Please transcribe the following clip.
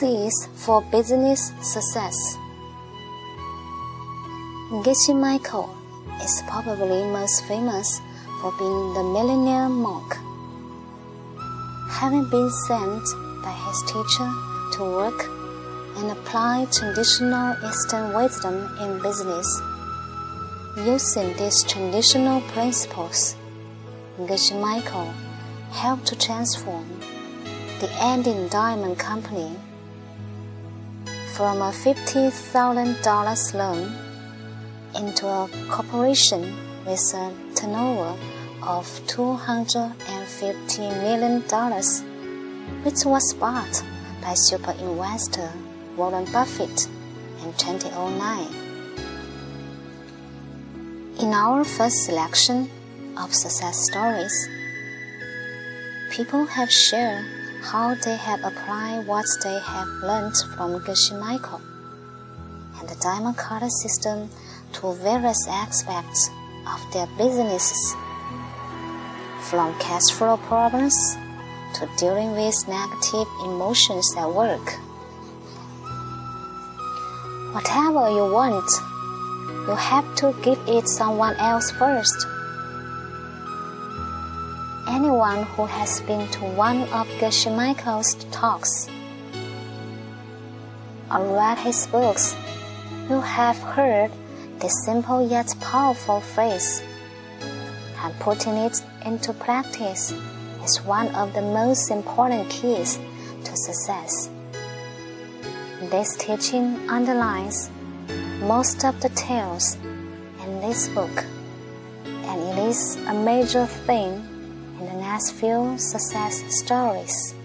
Keys for Business Success. Geshe Michael is probably most famous for being the millionaire monk. Having been sent by his teacher to work and apply traditional Eastern wisdom in business, using these traditional principles, Geshe Michael helped to transform the Andine Diamond Company from a $50,000 loan into a corporation with a turnover of $250 million, which was bought by super investor Warren Buffett in 2009. In our first selection of success stories, people have shared how they have applied what they have learned from Geshe Michael and the Diamond Cutter system to various aspects of their businesses, from cash flow problems to dealing with negative emotions at work. Whatever you want, you have to give it someone else first. Anyone who has been to one of Geshe Michael's talks or read his books will have heard this simple yet powerful phrase, and putting it into practice is one of the most important keys to success. This teaching underlines most of the tales in this book, and it is a major theme in the next few success stories.